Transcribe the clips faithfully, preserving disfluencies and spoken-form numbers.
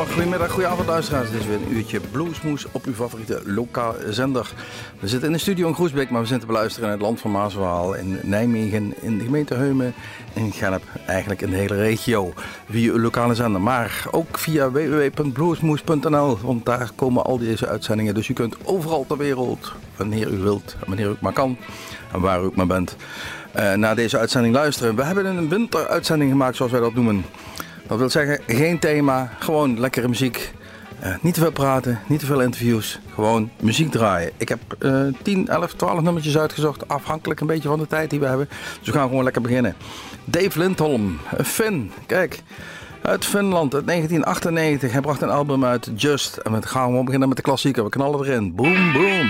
Goedemorgen, goedemiddag, goedenavond luisteraars. Dit is weer een uurtje Bluesmoes op uw favoriete lokale zender. We zitten in de studio in Groesbeek, maar we zijn te beluisteren in het land van Maaswaal, in Nijmegen, in de gemeente Heumen, in Gennep, eigenlijk in de hele regio. Via uw lokale zender, maar ook via w w w punt bluesmoes punt n l, want daar komen al deze uitzendingen. Dus u kunt overal ter wereld, wanneer u wilt, wanneer u ook maar kan en waar u ook maar bent, uh, naar deze uitzending luisteren. We hebben een winteruitzending gemaakt, zoals wij dat noemen. Dat wil zeggen, geen thema, gewoon lekkere muziek. Uh, niet te veel praten, niet te veel interviews, gewoon muziek draaien. Ik heb uh, tien, elf, twaalf nummertjes uitgezocht, afhankelijk een beetje van de tijd die we hebben. Dus we gaan gewoon lekker beginnen. Dave Lindholm, een Fin, kijk, uit Finland, uit negentien achtennegentig. Hij bracht een album uit, Just. En we gaan gewoon beginnen met de klassieker, we knallen erin. Boom, boom.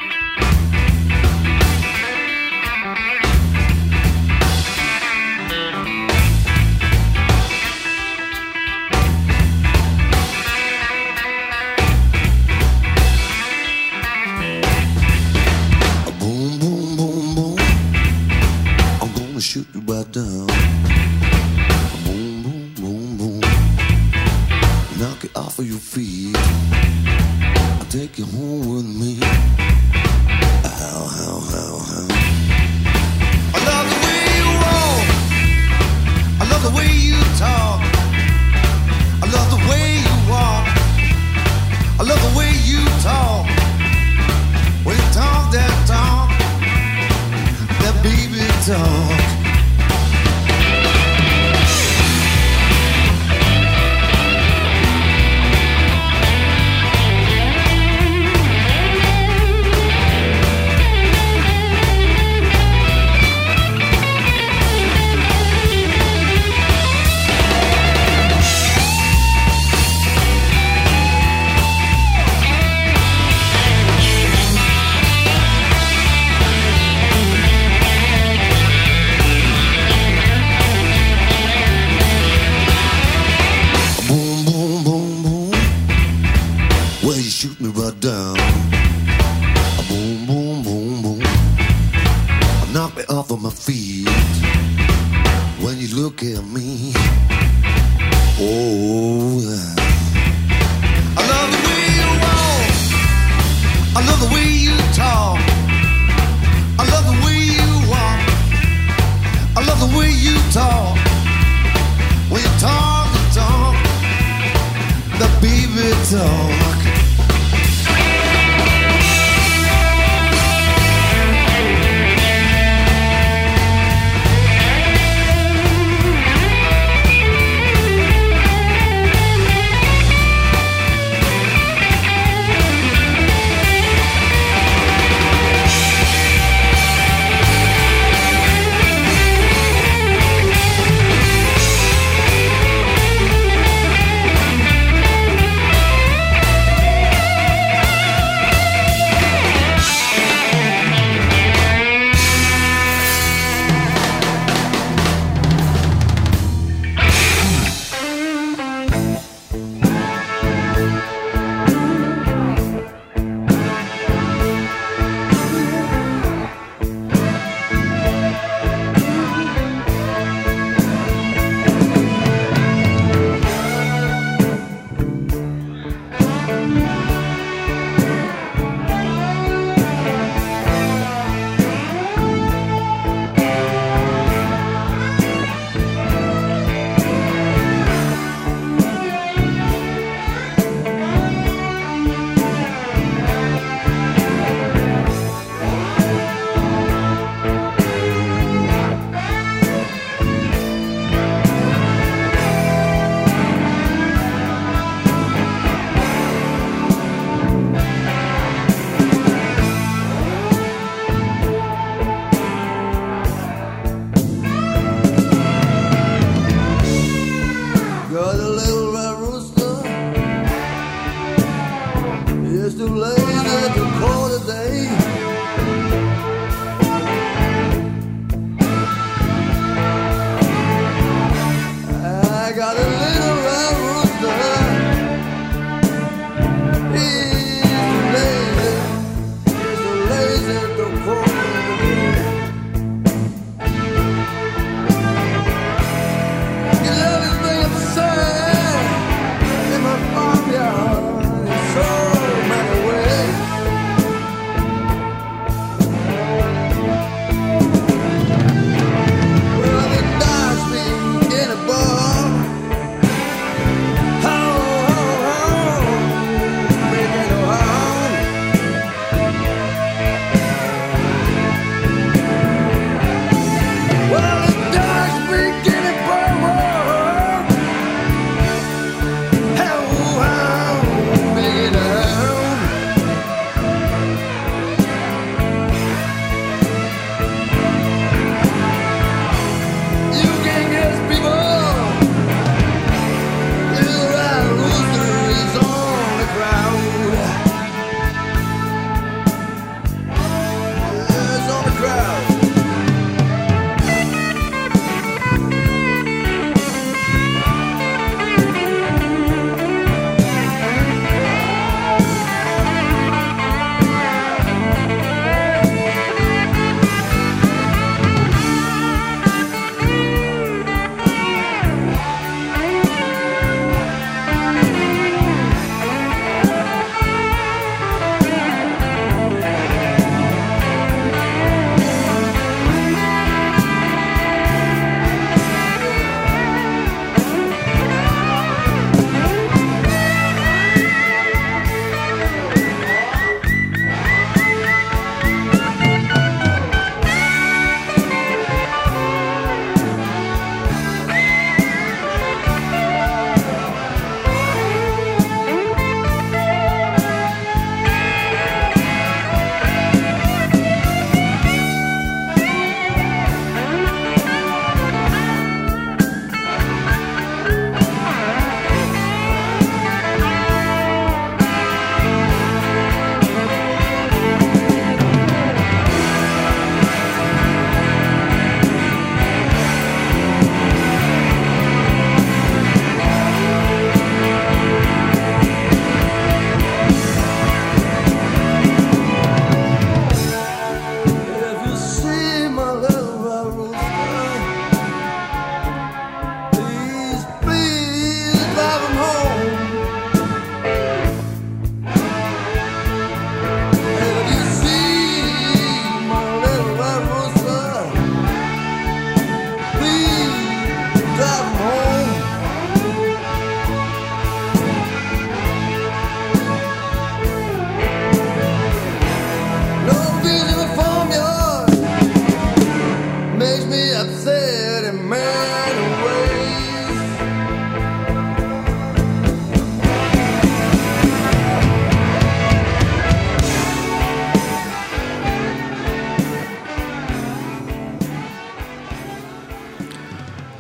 Shoot you right down. Boom, boom, boom, boom. Knock it off of your feet. I'll take you home with me. How, how, how, how. I love the way you walk. I love the way you talk. I love the way you walk. I love the way you talk. When you talk that talk, that baby talk. Shoot me right down. Boom, boom, boom, boom. Knock me off of my feet. When you look at me. Oh, I love the way you walk. I love the way you talk. I love the way you walk. I love the way you talk. When you talk and talk, the baby talk.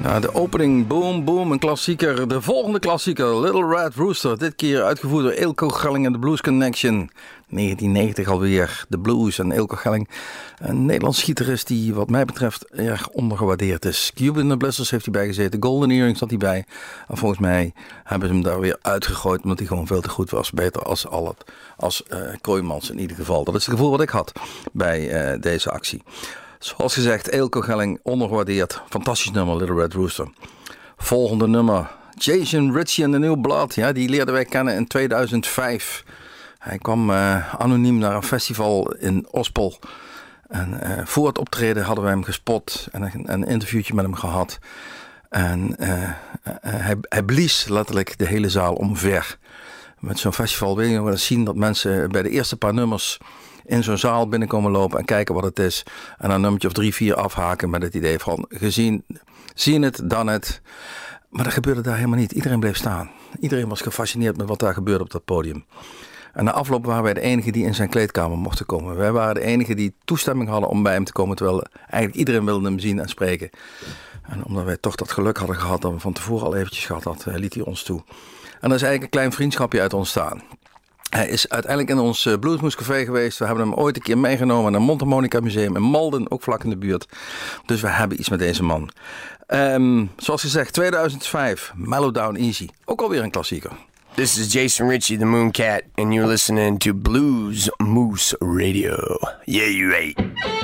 Ja, de opening, boom, boom, een klassieker. De volgende klassieker, Little Red Rooster. Dit keer uitgevoerd door Eelco Gelling en de Blues Connection. negentien negentig alweer, de blues en Eelco Gelling. Een Nederlands gitarist die wat mij betreft erg ondergewaardeerd is. Cuban the Blisters heeft hij bijgezeten, Golden Earring zat hij bij. En volgens mij hebben ze hem daar weer uitgegooid omdat hij gewoon veel te goed was. Beter als, al het, als uh, Kooijmans in ieder geval. Dat is het gevoel wat ik had bij uh, deze actie. Zoals gezegd, Eelco Gelling, ondergewaardeerd. Fantastisch nummer, Little Red Rooster. Volgende nummer, Jason Ritchie en The New Blood. Ja, die leerden wij kennen in tweeduizend vijf. Hij kwam uh, anoniem naar een festival in Ospel. En uh, voor het optreden hadden wij hem gespot en een, een interviewtje met hem gehad. En uh, uh, hij, hij blies letterlijk de hele zaal omver. Met zo'n festival wil je wel eens zien dat mensen bij de eerste paar nummers in zo'n zaal binnenkomen lopen en kijken wat het is. En een nummertje of drie, vier afhaken met het idee van gezien, zien het, dan het. Maar dat gebeurde daar helemaal niet. Iedereen bleef staan. Iedereen was gefascineerd met wat daar gebeurde op dat podium. En na afloop waren wij de enigen die in zijn kleedkamer mochten komen. Wij waren de enigen die toestemming hadden om bij hem te komen. Terwijl eigenlijk iedereen wilde hem zien en spreken. En omdat wij toch dat geluk hadden gehad dat we van tevoren al eventjes gehad hadden, liet hij ons toe. En er is eigenlijk een klein vriendschapje uit ontstaan. Hij is uiteindelijk in ons Bluesmoes Café geweest. We hebben hem ooit een keer meegenomen naar het Mondharmonica Museum in Malden, ook vlak in de buurt. Dus we hebben iets met deze man. Um, zoals gezegd, tweeduizend vijf, Mellow Down Easy. Ook alweer een klassieker. This is Jason Ritchie, the Mooncat, and you're listening to Blues Moose Radio. Yeah, you ain't.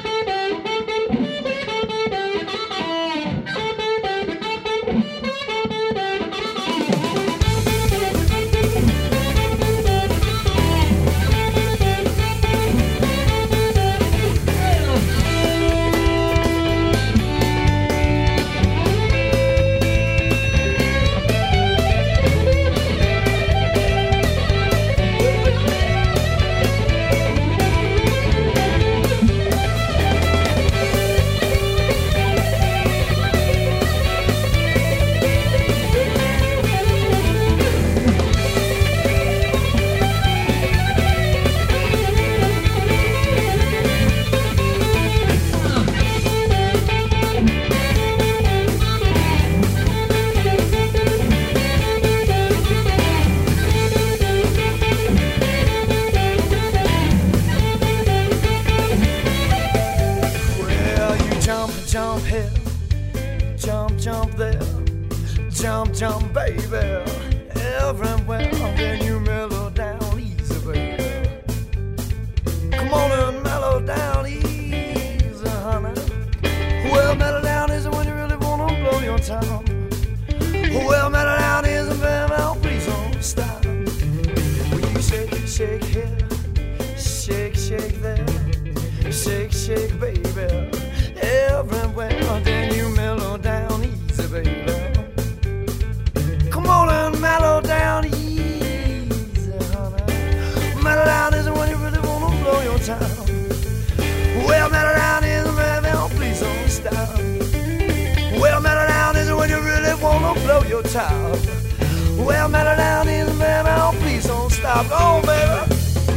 Jump, baby, everywhere. Then you mellow down easy, baby. Come on and mellow down easy, honey. Well, mellow down is when you really wanna blow your top. Well, mellow down is baby, oh, please don't stop. When you shake, shake here, shake, shake there, shake, shake, baby, everywhere. Then you mellow down easy, baby. Come on and mellow down easy, honey. Mellow down is when you really wanna blow your top. Well, mellow down is baby, oh, please don't stop. Well, mellow down is when you really wanna blow your top. Well, mellow down is baby, oh, please don't stop. Oh, baby.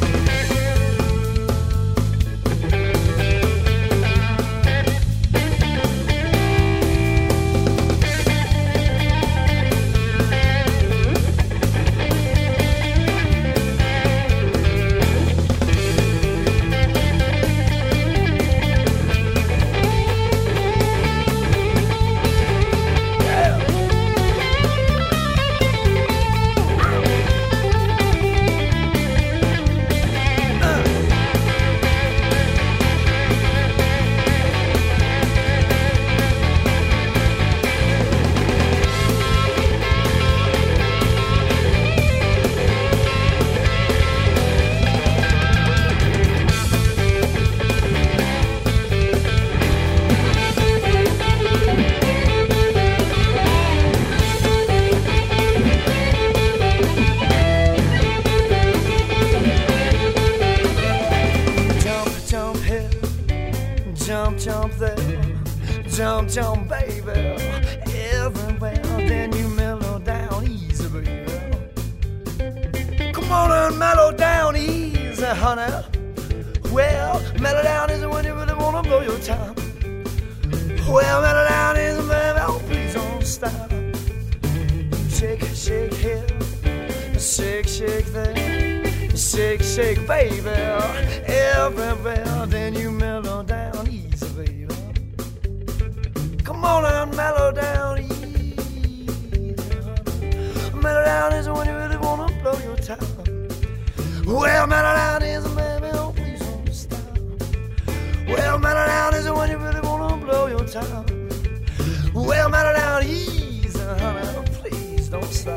Jump, jump, baby, everywhere. Then you mellow down easy, baby. Come on and mellow down easy, honey. Well, mellow down is when you really wanna blow your top. Well, mellow down is baby, oh, please don't shake here, shake, shake there, shake, shake, baby, everywhere. Then you mellow down easy, baby. Come on and mellow down easy. Mellow down is when you really wanna blow your top. Well, mellow down is, baby, oh please don't stop. Well, mellow down is when you really wanna blow your top. Well, mellow down easy, honey, please don't stop.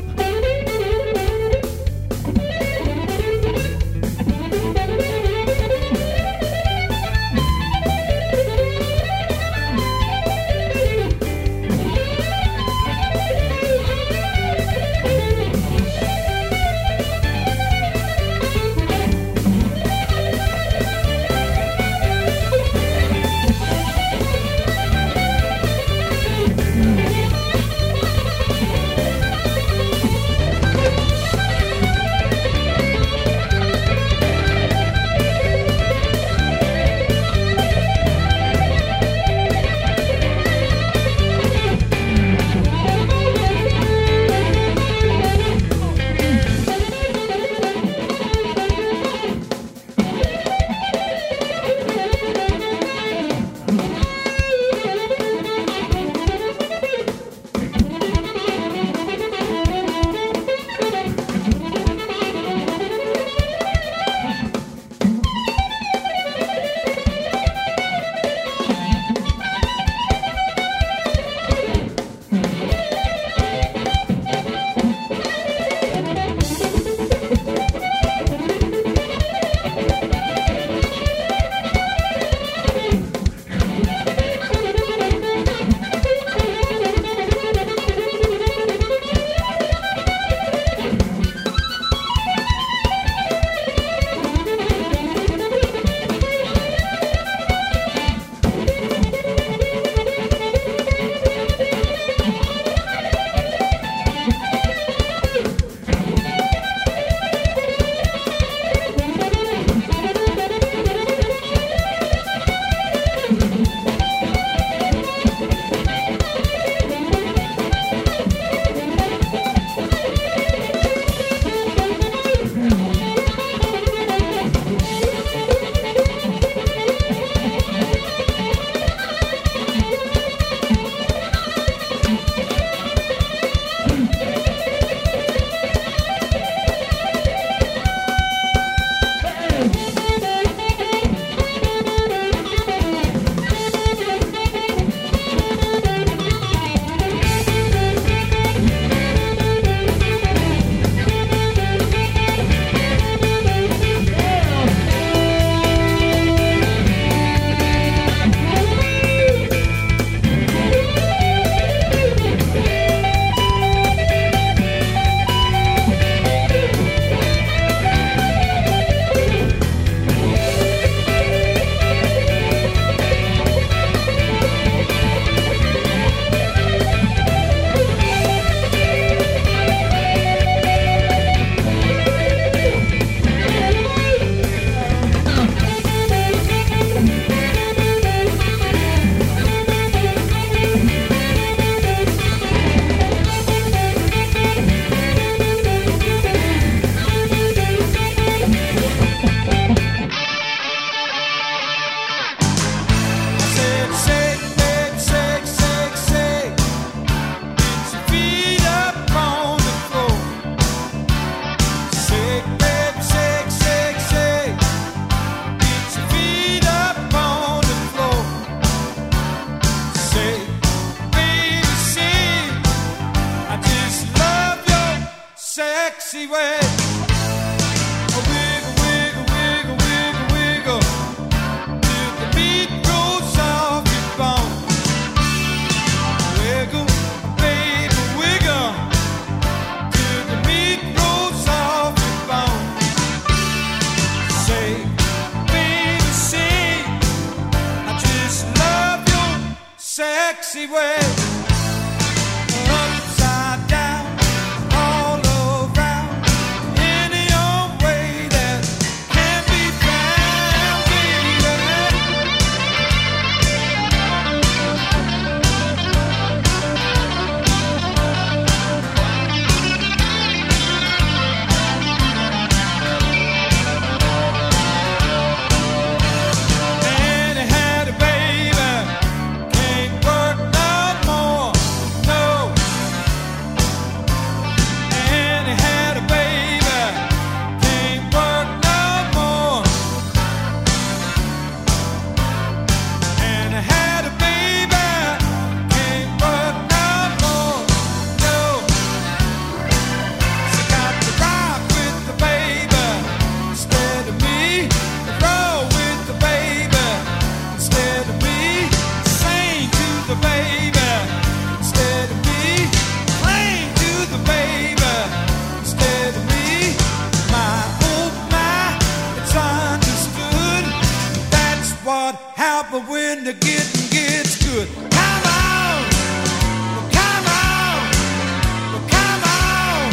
sexy way. Wiggle, wiggle, wiggle, wiggle, wiggle, till the beat goes off your bone. Wiggle, baby, wiggle, till the beat goes off your bone. Say, baby, say, I just love your sexy way. what happens when the getting gets good. Come on, come on, come on.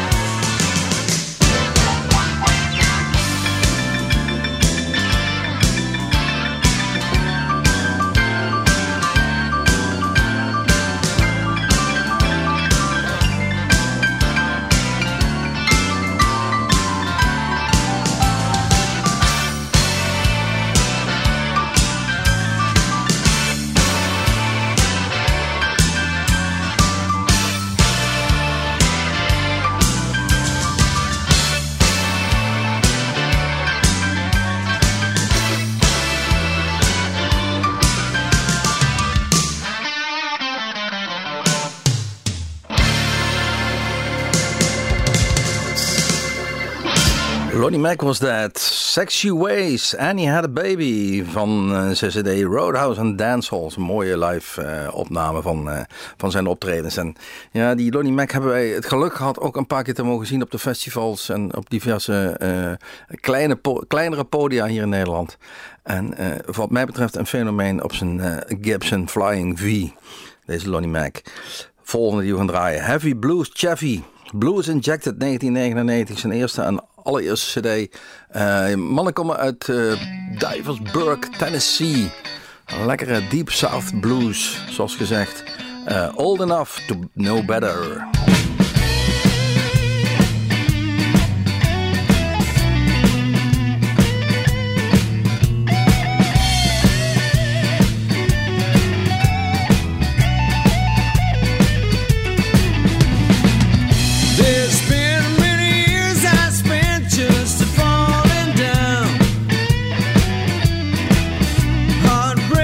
Lonnie Mac was dat. Sexy Ways. Annie Had a Baby van uh, zijn C D Roadhouse and Dancehalls. Een mooie live uh, opname van, uh, van zijn optredens. En ja, die Lonnie Mac hebben wij het geluk gehad ook een paar keer te mogen zien op de festivals en op diverse uh, kleine po- kleinere podia hier in Nederland. En uh, wat mij betreft een fenomeen op zijn uh, Gibson Flying V. Deze Lonnie Mac. Volgende die we gaan draaien. Heavy Blues Chevy. Blues Injected negentien negenennegentig. Zijn eerste en allereerste cd. Uh, mannen komen uit uh, Diversburg, Tennessee. Een lekkere Deep South Blues, zoals gezegd. Uh, old enough to know better.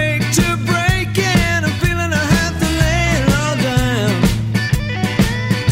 Break to break, and I'm feeling I have to lay it all down.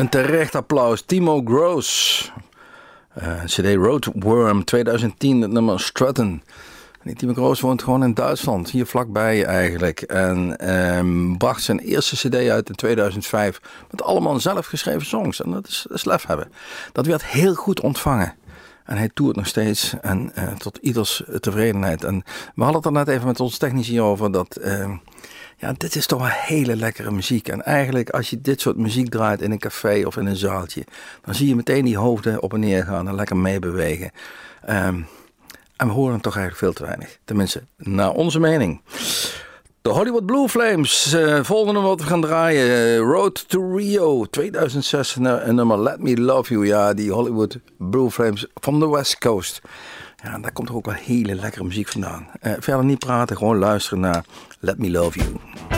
Een terecht applaus. Timo Gross. Uh, C D Roadworm tweeduizend tien, het nummer Struttin'. Die Timo Gross woont gewoon in Duitsland, hier vlakbij eigenlijk. En um, bracht zijn eerste cd uit in tweeduizend vijf met allemaal zelfgeschreven songs. En dat is, dat is lef hebben. Dat werd heel goed ontvangen. En hij toert nog steeds en uh, tot ieders tevredenheid. En we hadden het er net even met ons technici over dat... Uh, ja, dit is toch wel hele lekkere muziek. En eigenlijk als je dit soort muziek draait in een café of in een zaaltje... dan zie je meteen die hoofden op en neer gaan en lekker meebewegen. Um, en we horen hem toch eigenlijk veel te weinig. Tenminste, naar onze mening. De Hollywood Blue Flames. Uh, volgende wat we gaan draaien. Uh, Road to Rio. tweeduizend zes. Een nummer Let Me Love You. Ja, die Hollywood Blue Flames van de West Coast. Ja, daar komt toch ook wel hele lekkere muziek vandaan. Uh, verder niet praten, gewoon luisteren naar Let Me Love You.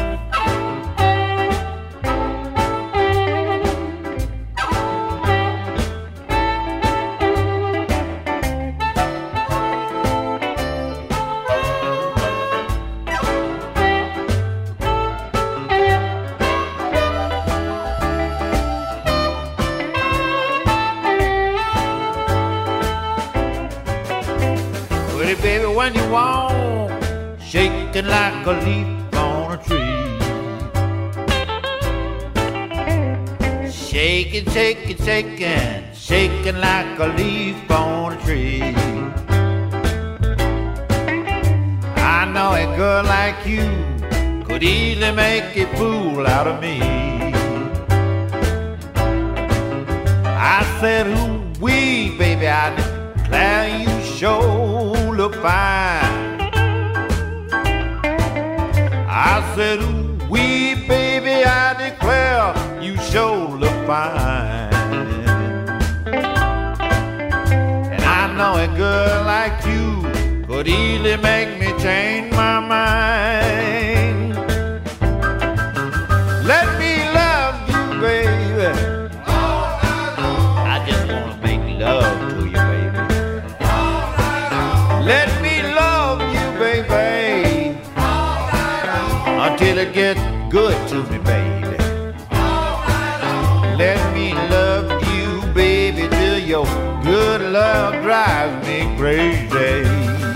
Baby, when you walk, shaking like a leaf on a tree. Shaking, shaking, shaking, shaking like a leaf on a tree. I know a girl like you could easily make a fool out of me. I said, ooh, wee, baby, I declare you sure look fine. I said, ooh, wee, baby, I declare you sure look fine. And I know a girl like you could easily make me change my mind. Let me love you, baby. I just wanna make love to you, baby. Let me love you, baby, until it gets good to me, baby. Let me love you, baby, till your good love drives me crazy.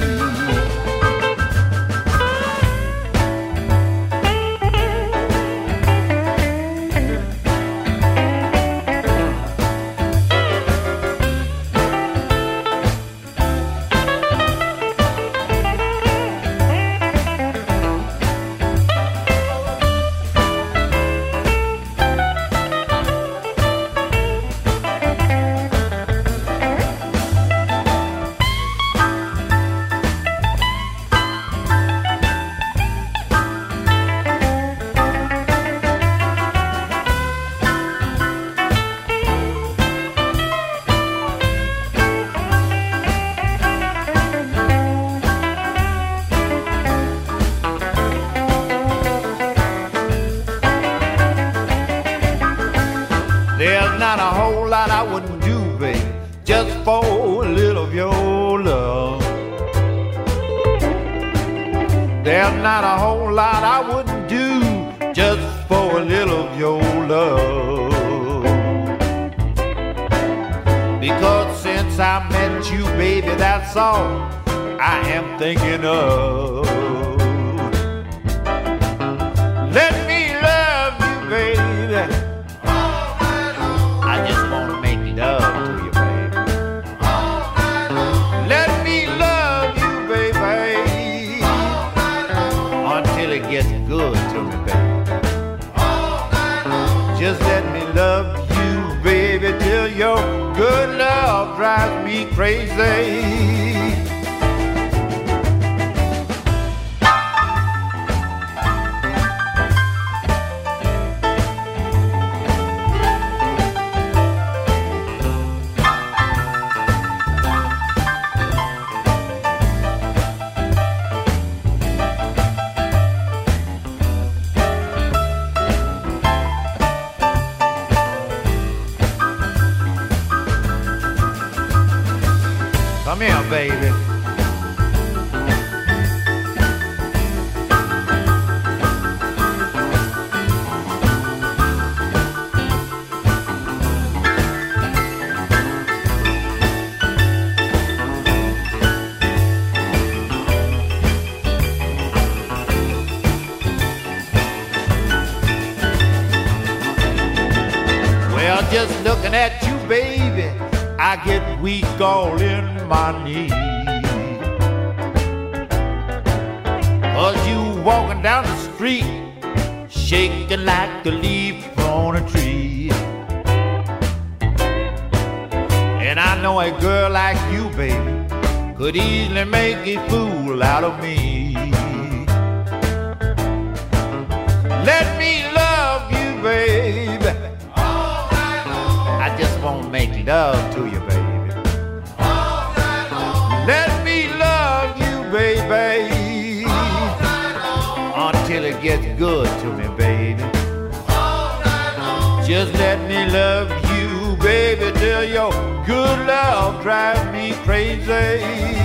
Not a whole lot I wouldn't do just for a little of your love. Because since I met you, baby, that's all I am thinking of. Let me love you, baby. I just want to make love to you, baby. Let me love you, baby, until it gets good to me, baby. Just let me love you, baby, till your good love drives me crazy. Come here, baby. just looking at you, baby, I get weak all in my knees. Cause you walking down the street, shaking like a leaf on a tree. And I know a girl like you, baby, could easily make a fool out of me. Let me love you, baby. All night long. I just wanna make love to you, baby. All night long. Let me love you, baby. All night long. Until it gets good to me, baby. All night long. Just let me love you, baby, till your good love drives me crazy.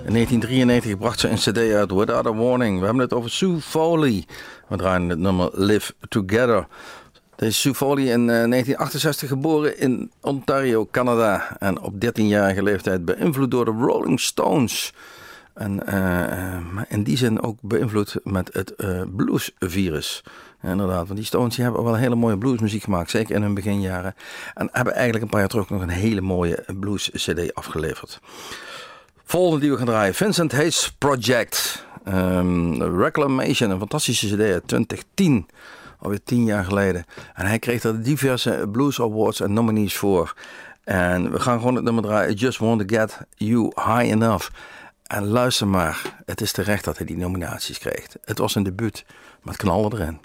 In negentien drieënnegentig bracht ze een cd uit, Without a Warning. We hebben het over Sue Foley. We draaien het nummer Live Together. Deze Sue Foley in uh, negentien achtenzestig geboren in Ontario, Canada. En op dertienjarige leeftijd beïnvloed door de Rolling Stones. En uh, in die zin ook beïnvloed met het uh, bluesvirus. Ja, inderdaad, want die Stones die hebben wel hele mooie bluesmuziek gemaakt. Zeker in hun beginjaren. En hebben eigenlijk een paar jaar terug nog een hele mooie blues cd afgeleverd. Volgende die we gaan draaien. Vincent Hayes Project. Um, Reclamation, een fantastische cd uit twintig tien. Alweer tien jaar geleden. En hij kreeg er diverse blues awards en nominees voor. En we gaan gewoon het nummer draaien. I Just Want To Get You High Enough. En luister maar. Het is terecht dat hij die nominaties kreeg. Het was een debuut. Maar het knalde erin.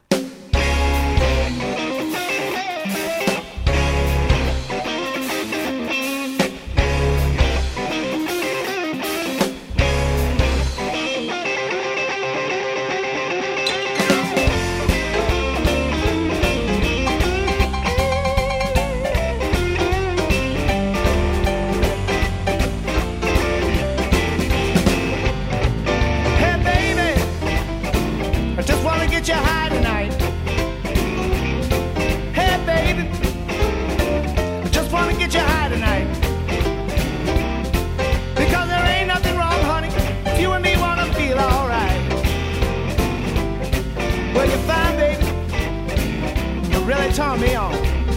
Turn me on.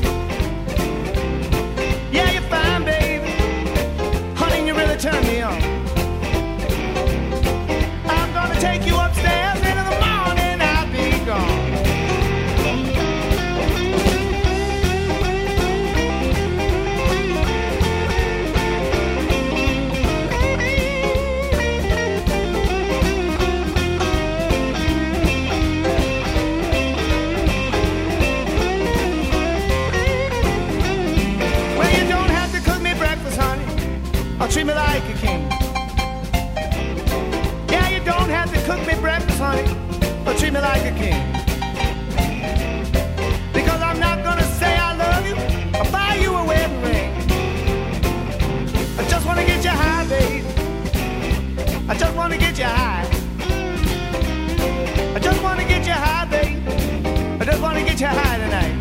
Yeah, you're fine, baby. Honey, you really turn me on. I'm gonna take you upstairs, and in the morning I'll be gone. Treat me like a king. Yeah, you don't have to cook me breakfast, honey, but treat me like a king. Because I'm not gonna say I love you or buy you a wedding ring. I just wanna get you high, babe. I just wanna get you high. I just wanna get you high, babe. I just wanna get you high tonight.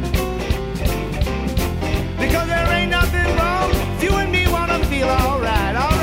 Because there ain't nothing wrong if you and me wanna feel alright, alright.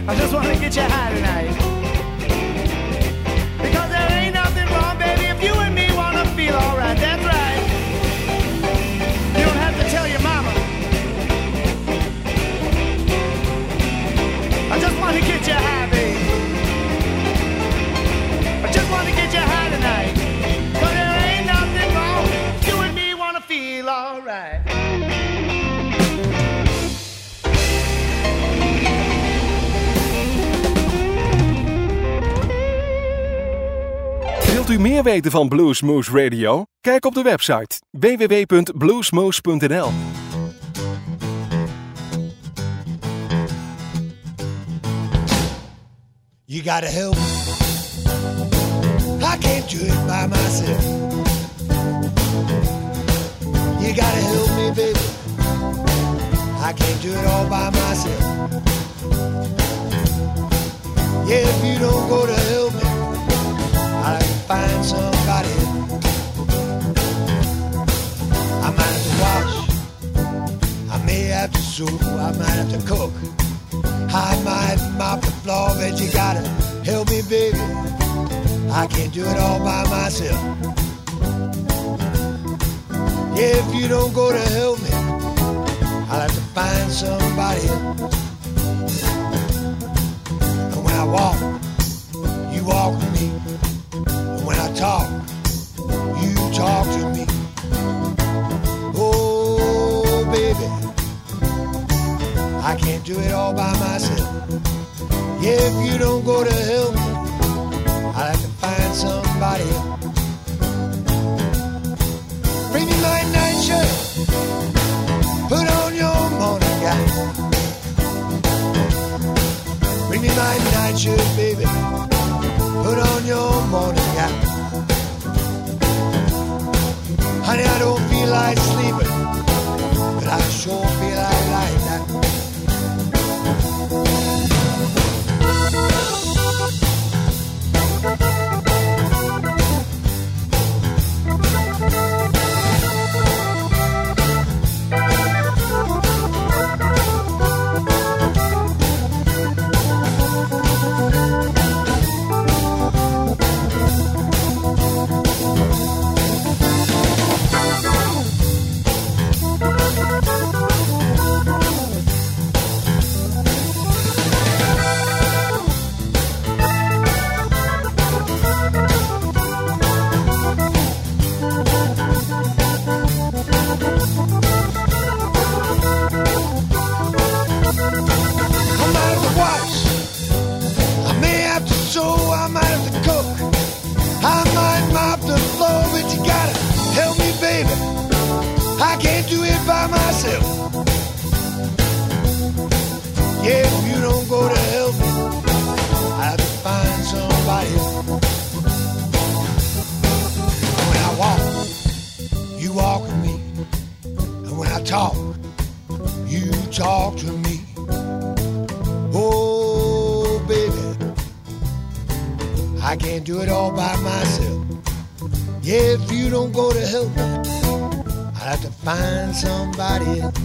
I just want to get you high tonight. Because there ain't nothing wrong, baby, if you and me want to feel alright. That's right. You don't have to tell your mama. I just want to get you high, baby. I just want to get you high tonight. But there ain't nothing wrong. You and me want to feel alright. Wilt u meer weten van Bluesmoose Radio? Kijk op de website w w w punt bluesmoose punt n l. You gotta help me. I can't do it by myself. You gotta help me, baby. I can't do it all by myself. Yeah, if you don't go to help me, I'll have to find somebody. I might have to wash. I may have to sew. I might have to cook. I might mop the floor, but you gotta help me, baby. I can't do it all by myself. Yeah, if you don't go to help me, I'll have to find somebody else. And when I walk, you walk with me. And when I talk, you talk to me. Oh, baby, I can't do it all by myself. Yeah, if you don't go to help me, I'll have to find somebody else. Bring me my night shirt, put on your morning gown. Bring me my night shirt, baby, put on your morning gown. Honey, I don't feel like sleeping, but I sure feel like lying down. Somebody else.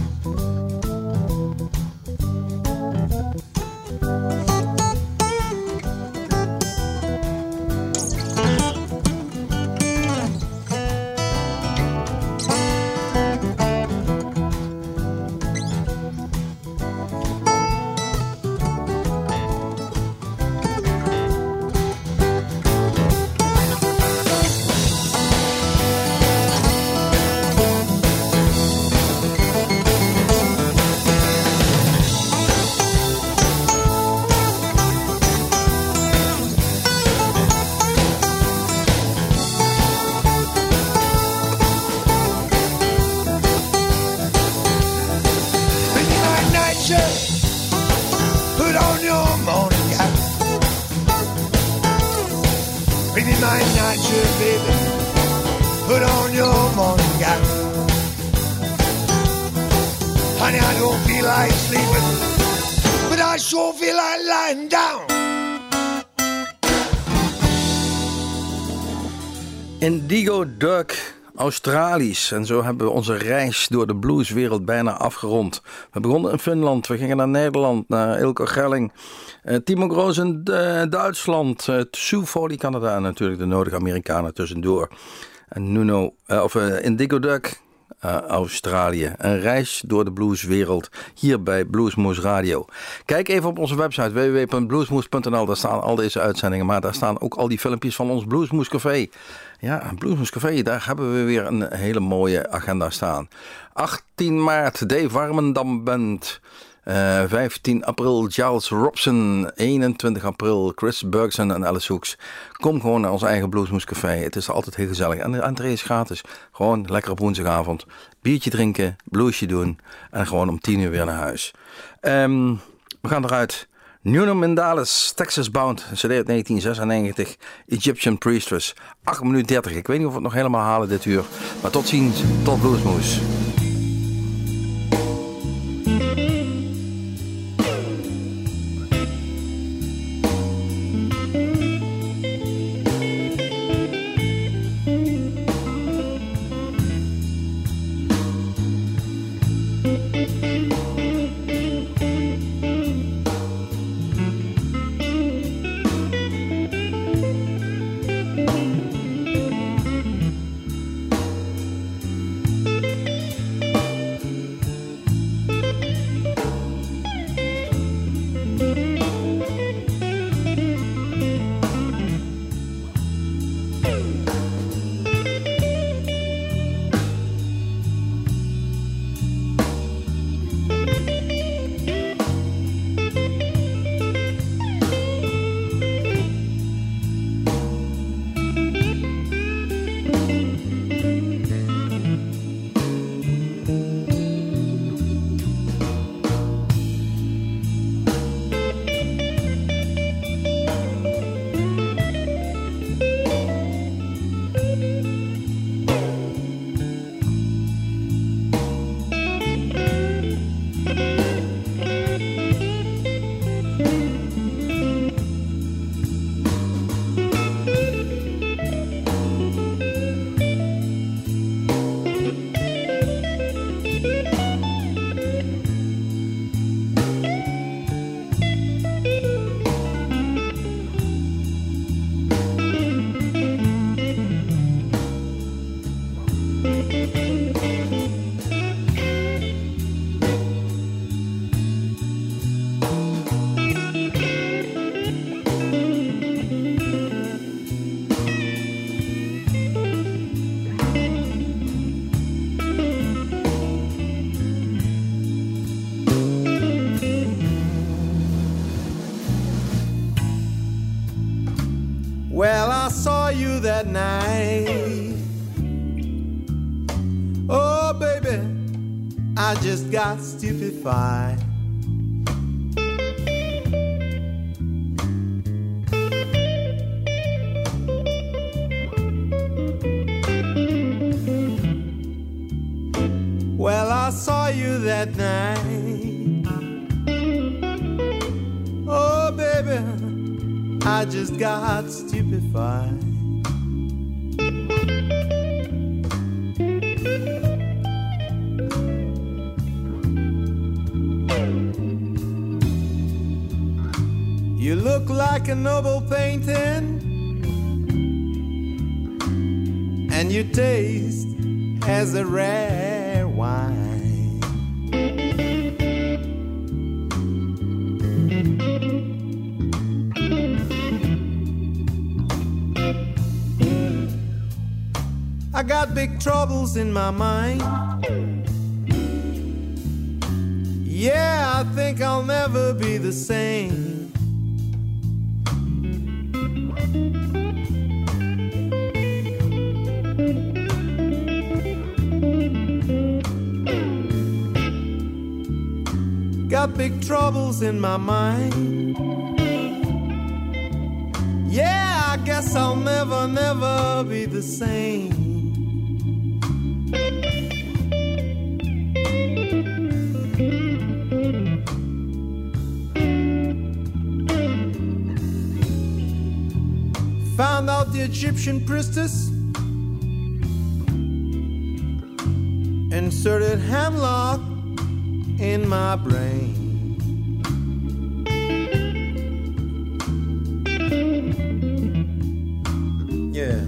Indigo Duck Australisch. En zo hebben we onze reis door de blueswereld bijna afgerond. We begonnen in Finland, we gingen naar Nederland, naar Ilko Gelling, uh, Timo Groos in uh, Duitsland, uh, Sue Foley Canada en natuurlijk de nodige Amerikanen tussendoor. En Nuno, uh, of uh, Indigo Duck, uh, Australië. Een reis door de blueswereld hier bij Bluesmoose Radio. Kijk even op onze website w w w punt bluesmoose punt n l. Daar staan al deze uitzendingen, maar daar staan ook al die filmpjes van ons Bluesmoose Café. Ja, Bluesmoose Café, daar hebben we weer een hele mooie agenda staan. achttien maart, Dave Warmendam Band. Uh, vijftien april Giles Robson, eenentwintig april Chris Bergson en Alice Hoeks. Kom gewoon naar ons eigen Bluesmoose Café. Het is altijd heel gezellig. En de entree is gratis. Gewoon lekker op woensdagavond. Biertje drinken, bluesje doen en gewoon om tien uur weer naar huis. Um, we gaan eruit. Nuno Mendalis, Texas Bound, C D uit negentien zesennegentig, Egyptian Priestess, acht minuten dertig. Ik weet niet of we het nog helemaal halen dit uur. Maar tot ziens, tot Bluesmoose. Well, I saw you that night. Oh, baby, I just got stupefied. Well, I saw you that night. Oh, baby, I just got stupefied. You look like a noble painting, and you taste as a rare wine. I got big troubles in my mind. Yeah, I think I'll never be the same. Got big troubles in my mind. Yeah, I guess I'll never, never be the same. Found out the Egyptian priestess inserted hemlock in my brain. Yeah.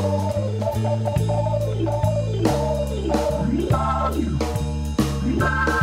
Bye.